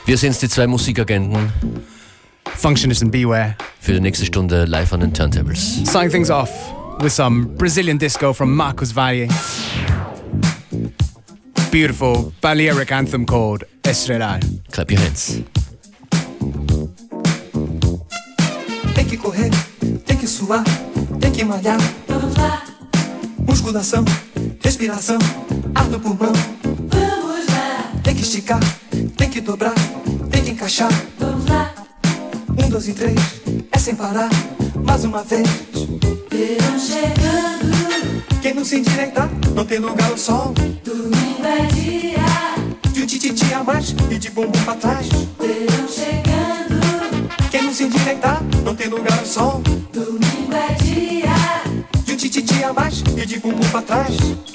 Wir sind's, die zwei Musikagenten. Functionist and Beware. Für die nächste Stunde live an den Turntables. Starting things off with some Brazilian disco from Marcos Valle. Beautiful Balearic anthem called Estrela. Clap your hands. Tem que correr, tem que suar, tem que malhar. Vamos lá. Musculação, respiração, ar no pulmão. Vamos lá. Tem que esticar, tem que dobrar, tem que encaixar. Vamos lá. 1, 2 e 3, é sem parar, mais uma vez. Verão chegando. Quem não se endireitar, não tem lugar ao sol. Domingo é dia de um tititi a mais e de bumbum pra trás. Verão chegando. Quem não se endireitar, não tem lugar ao sol. Domingo é dia de um tititi a mais e de bumbum pra trás.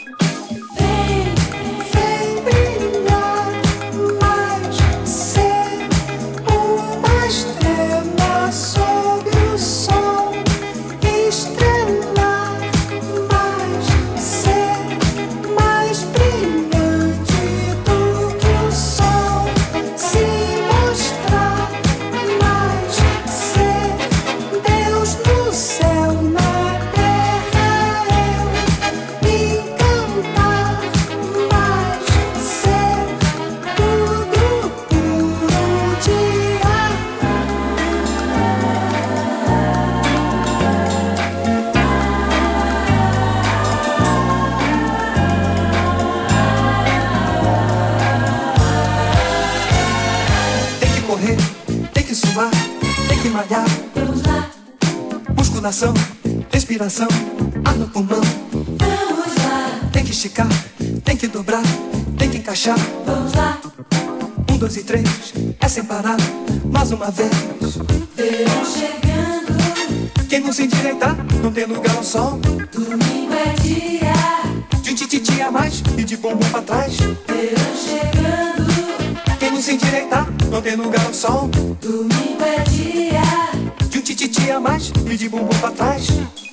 Musculação, respiração, ar no pulmão. Vamos lá. Tem que esticar, tem que dobrar, tem que encaixar. Vamos lá. 1, 2 e 3, é sem parar, mais uma vez. Verão chegando. Quem não se endireitar, não tem lugar ao sol. Domingo é dia de um tititi a mais e de bumbum pra trás. Verão chegando. Quem não se endireitar, não tem lugar ao sol. Domingo é dia de um tititi a mais e de bumbum pra trás.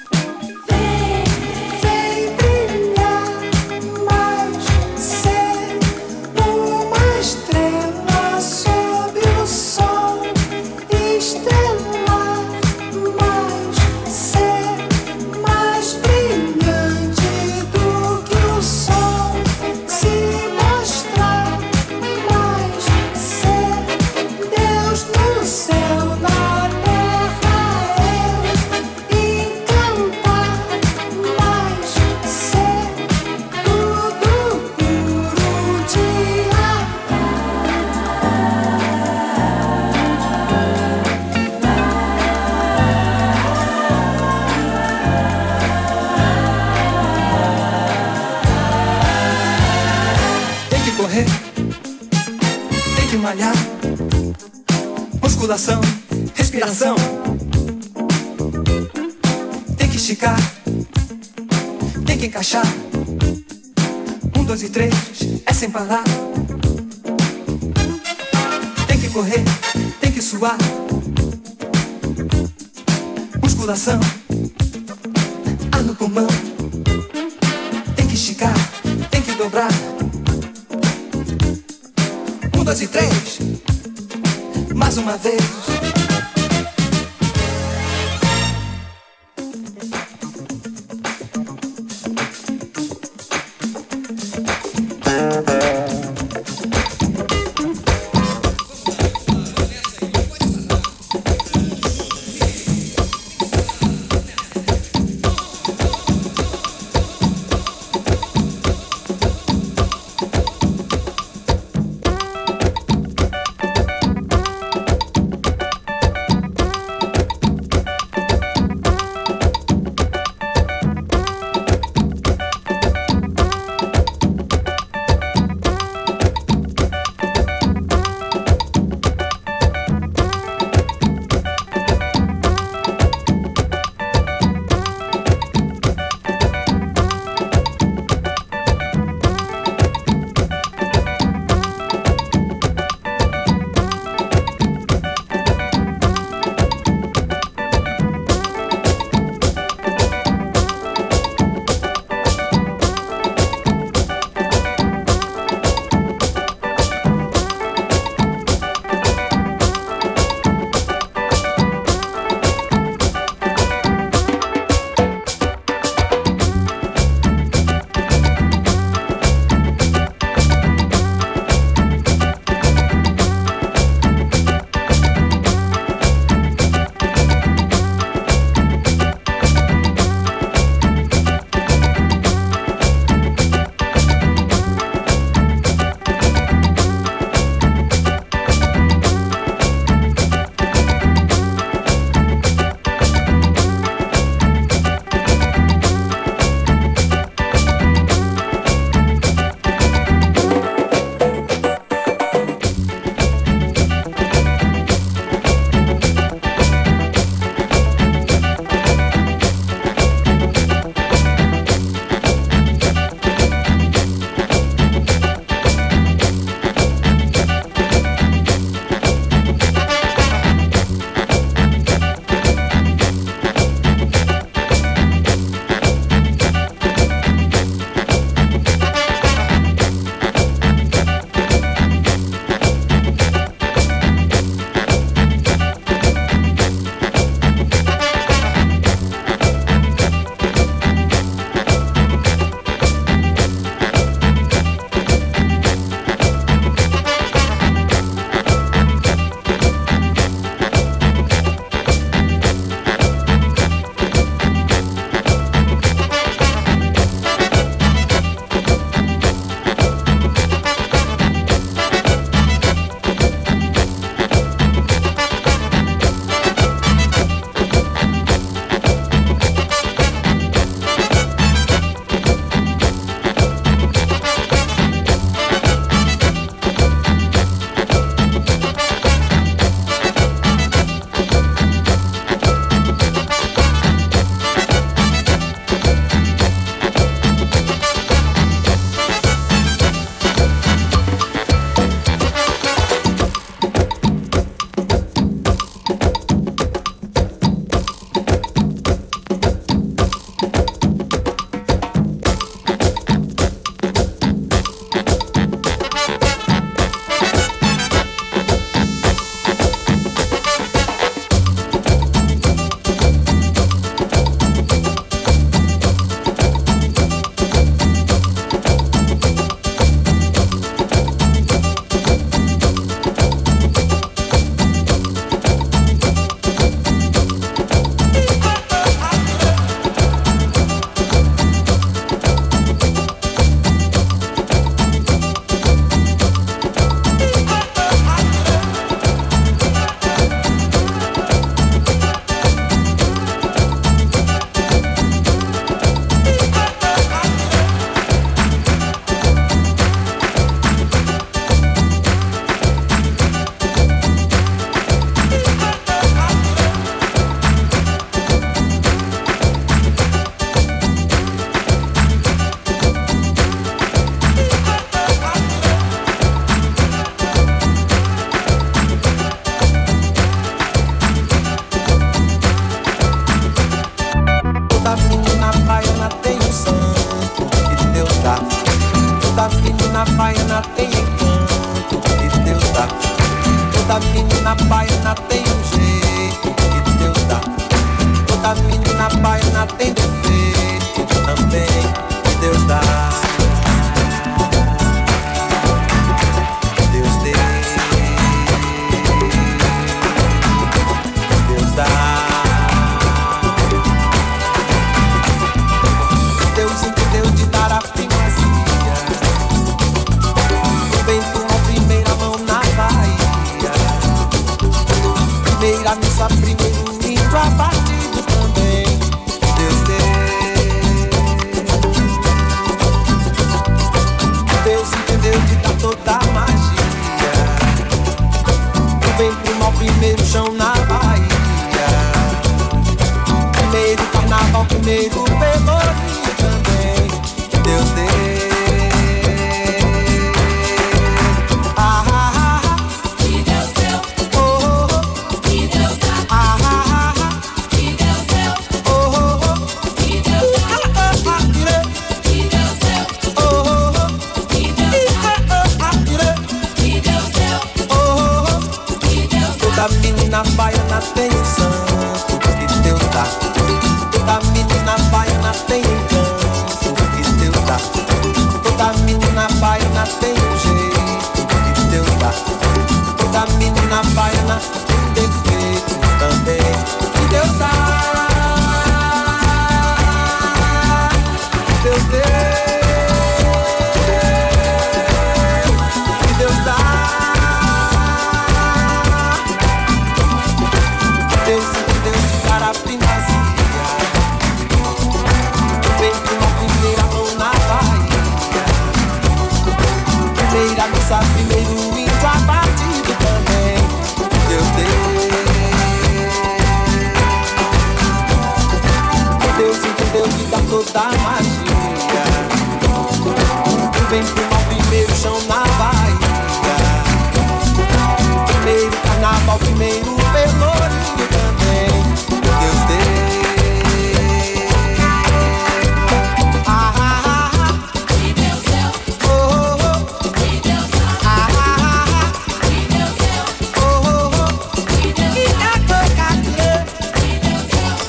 Musculação, respiração. Tem que esticar, tem que encaixar. 1, 2 e 3, é sem parar. Tem que correr, tem que suar. Musculação, ar no pulmão. Tem que esticar, tem que dobrar. 1, 2 e 3, mais uma vez. baiana tem encanto que Deus dá. Toda menina baiana tem um jeito que Deus dá. Toda menina baiana tem defeito também que Deus dá. Deus deu, Deus dá. Deus entendeu de dar a primazia. O bem tomou primeira mão na Bahia. Primeira missa, primeiro lindo abatido também. Deus deu. Deus entendeu de dar toda a magia. O bem pro mal, primeiro chão na Bahia. Primeiro carnaval, primeiro pelourinho também. Deus deu. Que Deus deu. Que Deus dá. Que Deus deu. Que Deus dá. Que Deus deu. Que Deus dá. Que Deus deu. Que Deus dá. Toda menina baiana tem um santo que Deus dá. Toda menina baiana tem encanto que Deus dá. Toda menina baiana tem um jeito que Deus dá. Toda menina baiana tem defeitos também que Deus dá. Deus deu, que Deus dá. Deus entendeu de dar a primazia. Vem com uma primeira mão na Bahia. Primeira missa, primeiro índio abatido também. Deus deu. Deus entendeu de dar toda a magia. Vem com uma primeiro chão na Bahia. Primeiro carnaval, primeiro pelourinho também. Deus deu. Que Deus deu. Que Deus dá. Que Deus deu. Que Deus dá. Que Deus deu. Que Deus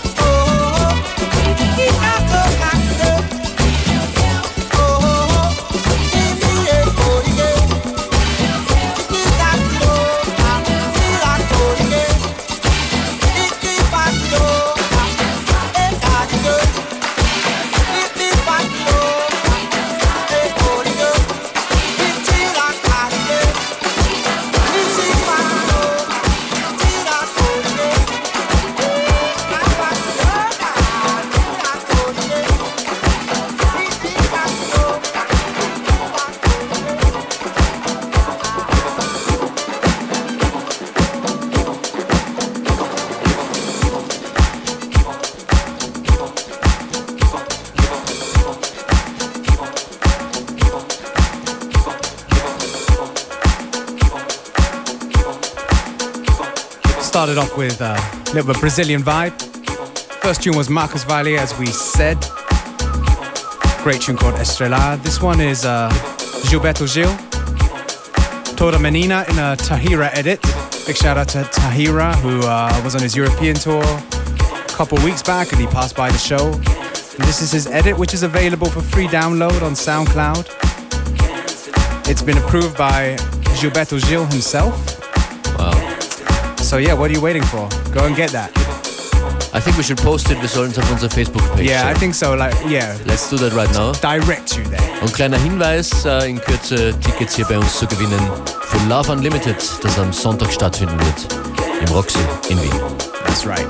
Started off with a little bit of Brazilian vibe. First tune was Marcos Valle, as we said. Great tune called Estrela. This one is Gilberto Gil. Toda Menina in a Tahira edit. Big shout out to Tahira, who was on his European tour a couple weeks back and he passed by the show. And this is his edit, which is available for free download on SoundCloud. It's been approved by Gilberto Gil himself. Wow. So yeah, what are you waiting for? Go and get that. I think we should post it. Wir sollen es auf unserer Facebook-Page Yeah, I stellen. think so. Like, yeah, Let's do that right now. direct you there. Und kleiner Hinweis, in Kürze Tickets hier bei uns zu gewinnen für Love Unlimited, das am Sonntag stattfinden wird im Roxy in Wien. That's right.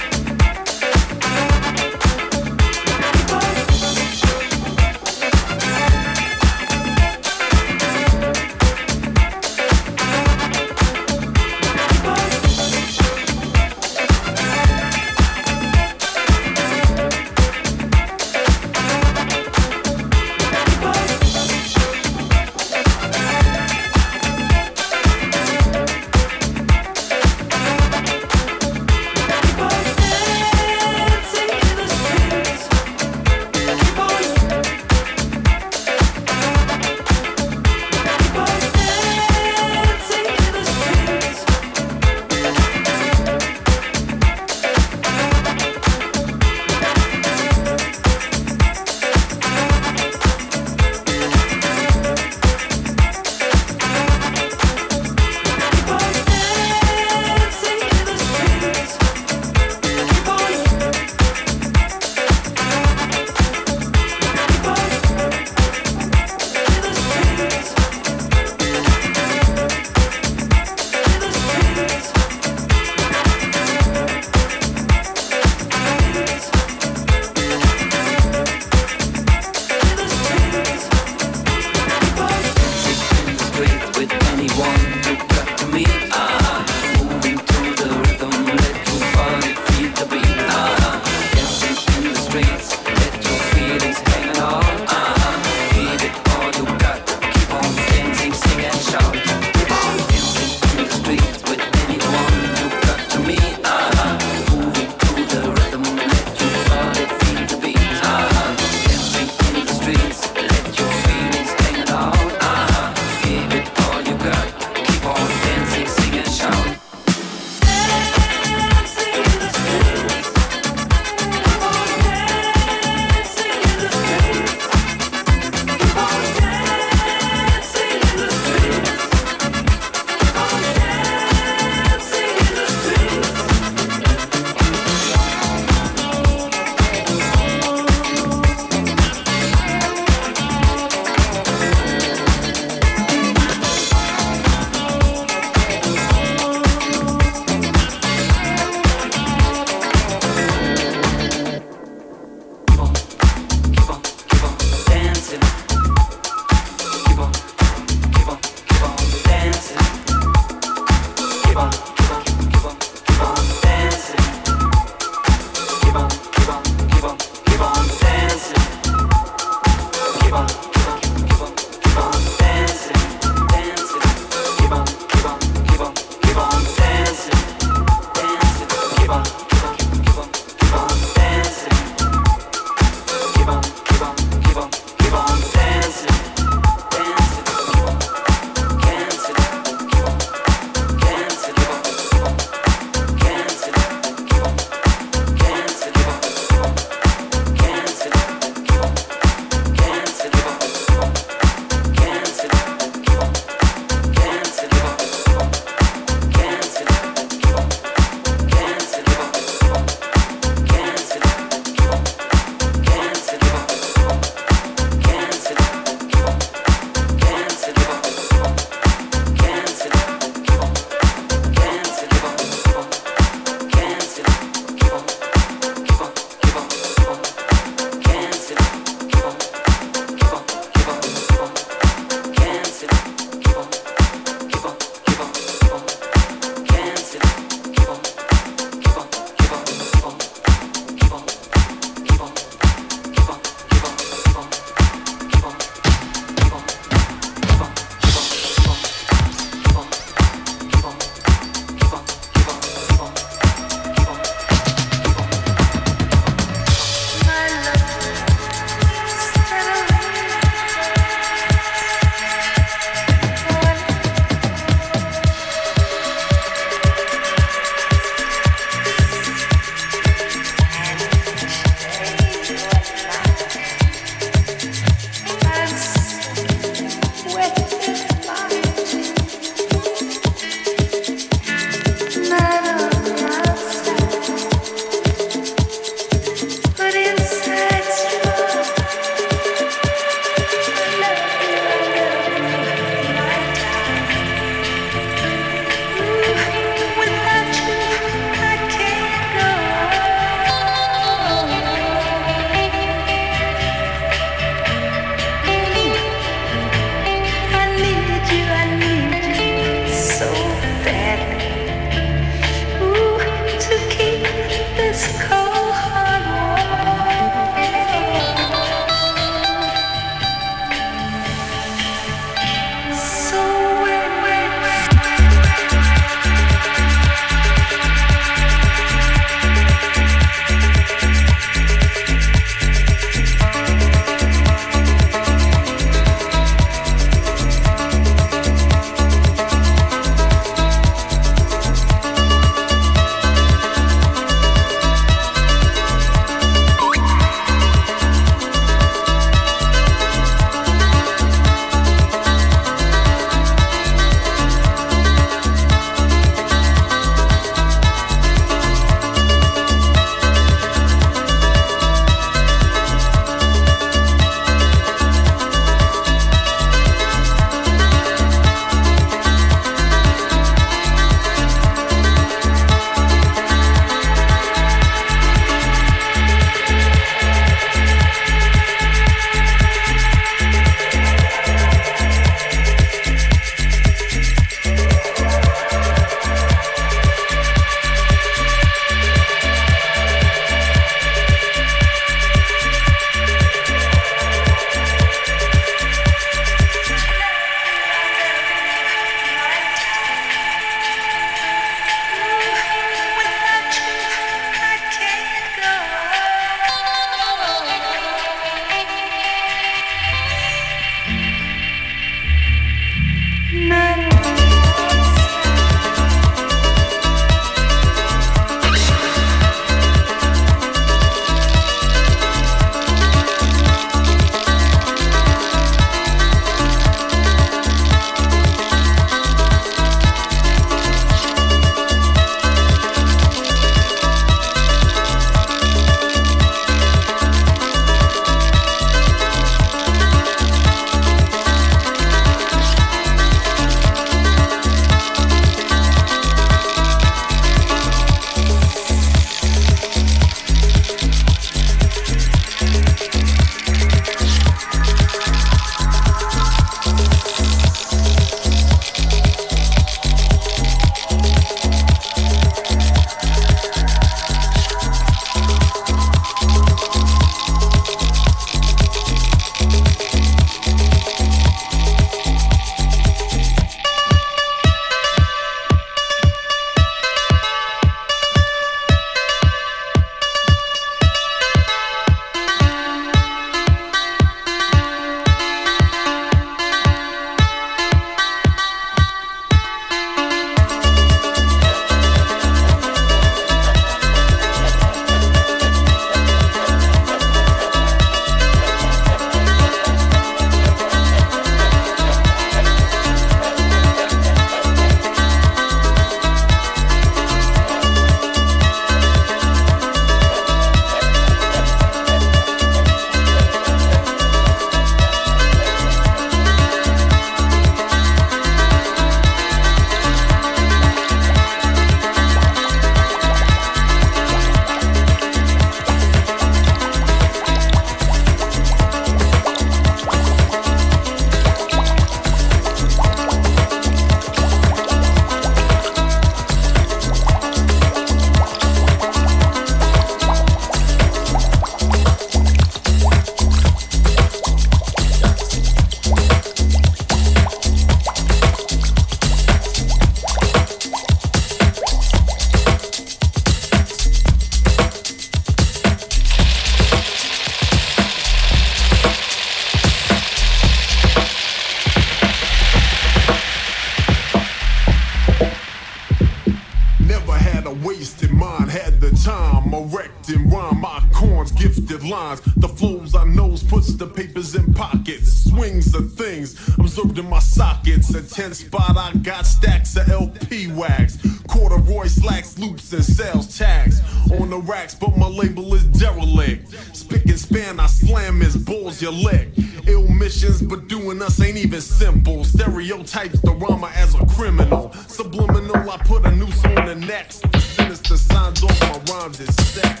Lines, the flows I knows puts the papers in pockets, swings the things observed in my sockets. A 10 spot, I got stacks of LP wax, corduroy slacks, loops, and sales tags on the racks, but my label is derelict. Spick and span, I slam his balls, your leg. Ill missions, but doing us ain't even simple. Stereotypes the rhymer as a criminal. Subliminal, I put a noose on the neck. Sinister signs off my rhymes is stack.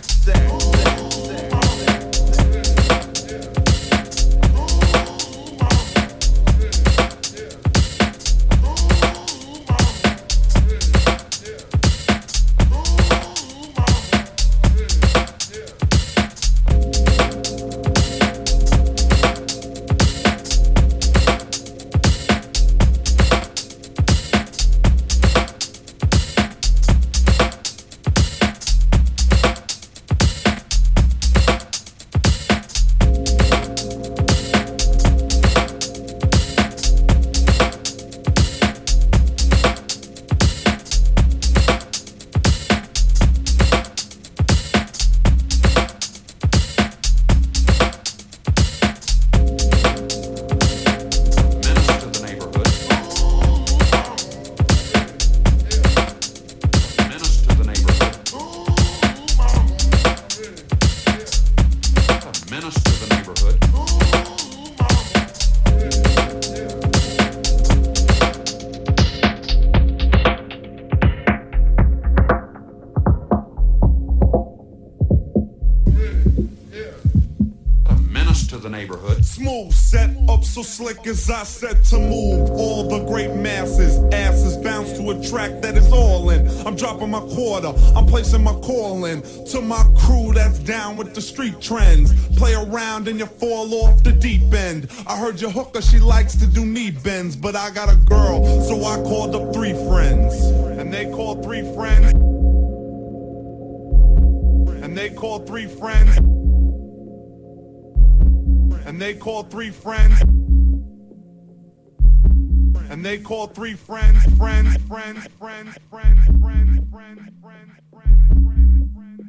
So slick as I said to move all the great masses, asses bounce to a track that is all in. I'm dropping my quarter, I'm placing my call in to my crew that's down with the street trends. Play around and you fall off the deep end. I heard your hooker, she likes to do knee bends, but I got a girl, so I called up 3 friends, and they called 3 friends, and they called 3 friends, and they called 3 friends. and they call three friends, friends, friends, friends, friends, friends, friends, friends, friends, friends, friends.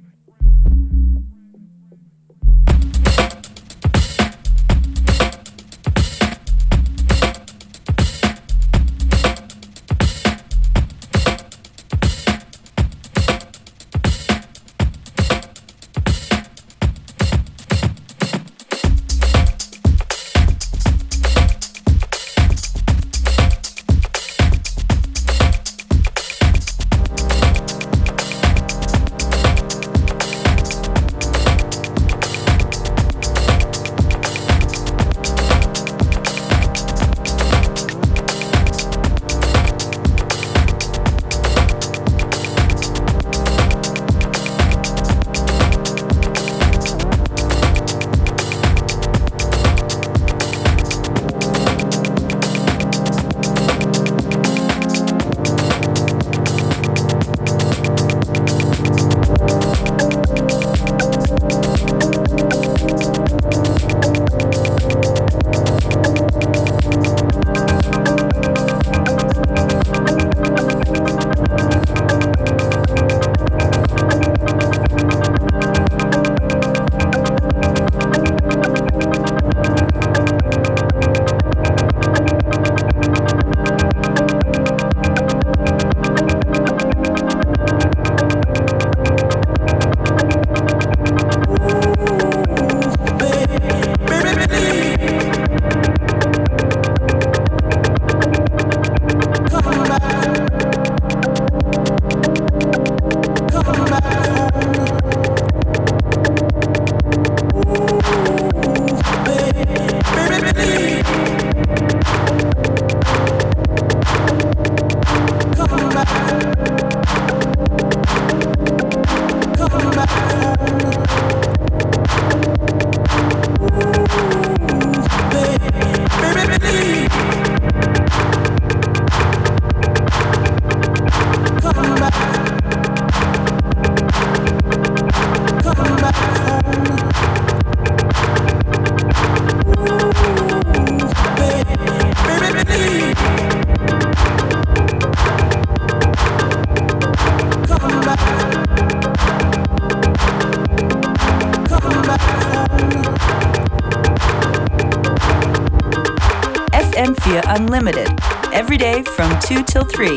FM4 Unlimited, every day from 2 till 3.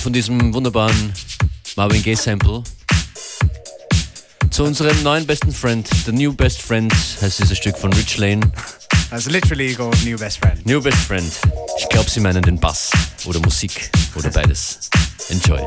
von diesem wunderbaren Marvin Gaye Sample zu unserem neuen besten Friend, The New Best Friend heißt dieses Stück von Rich Lane. That's literally called New Best Friend. New Best Friend. Ich glaube, sie meinen den Bass oder Musik oder beides. Enjoy.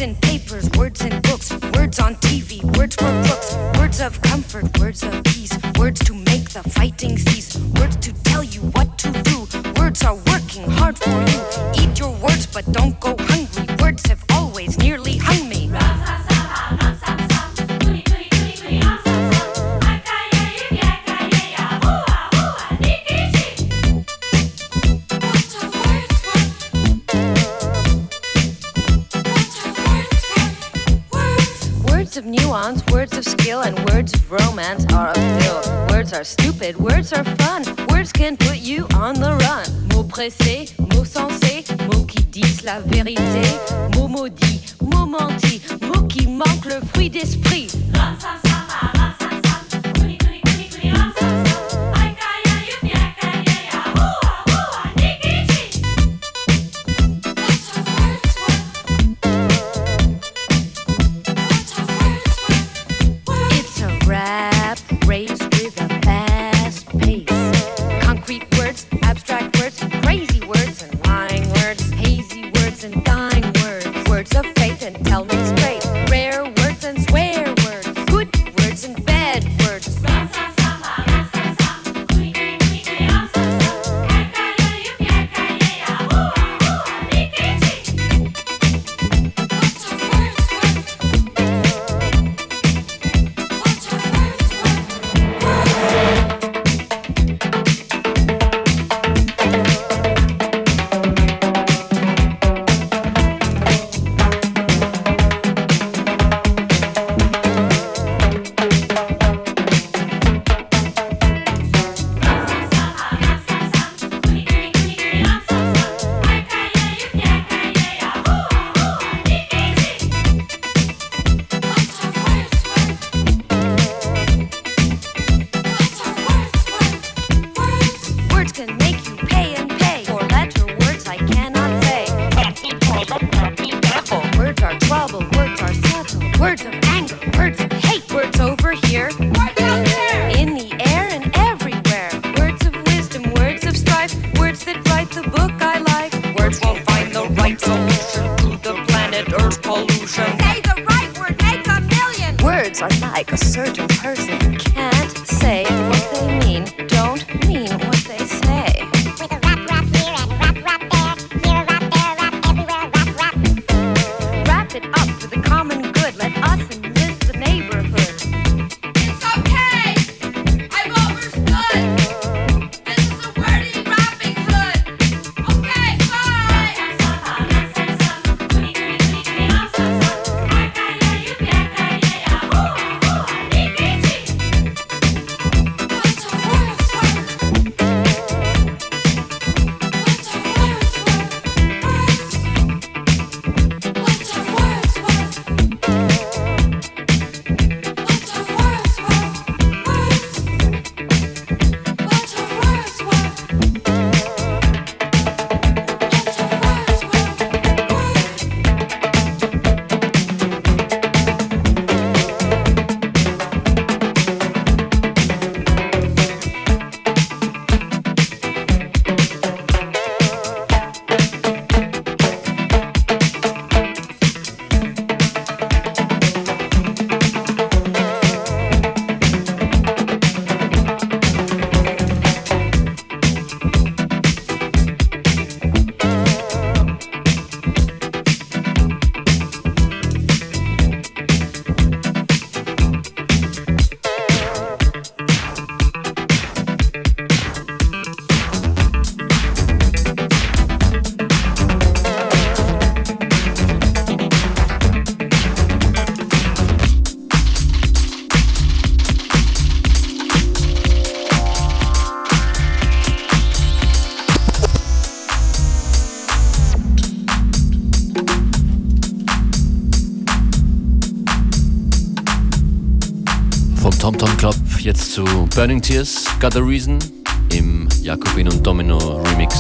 in papers, words in books, words on TV, words for crooks, words of comfort, words of peace, words to make the fighting cease, words to tell you what to do. Words are working hard for you. Eat your words, but don't go hungry. Words have always nearly hung me. Words of nuance, words of skill, and words of romance are a pill. Words are stupid, words are fun. Words can put you on the run. Mots pressés, mots sensés, mots qui disent la vérité. Mots maudits, mots mentis, mots qui manquent le fruit d'esprit. TomTom Club jetzt zu Burning Tears, Got a Reason im Jakobin und Domino Remix.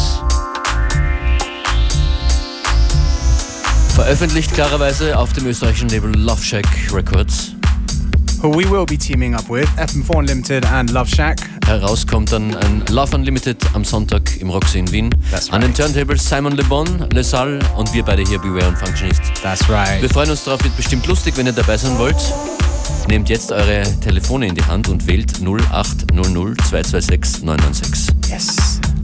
Veröffentlicht klarerweise auf dem österreichischen Label Love Shack Records. who we will be teaming up with, FM4 Unlimited and Love Shack. Herauskommt dann ein Love Unlimited am Sonntag im Roxy in Wien. That's right. An den Turntables Simon Le Bon, Le Salle und wir beide hier, Beware und Functionist. That's right. Wir freuen uns darauf, wird bestimmt lustig, wenn ihr dabei sein wollt. Nehmt jetzt eure Telefone in die Hand und wählt 0800 226 996. Yes.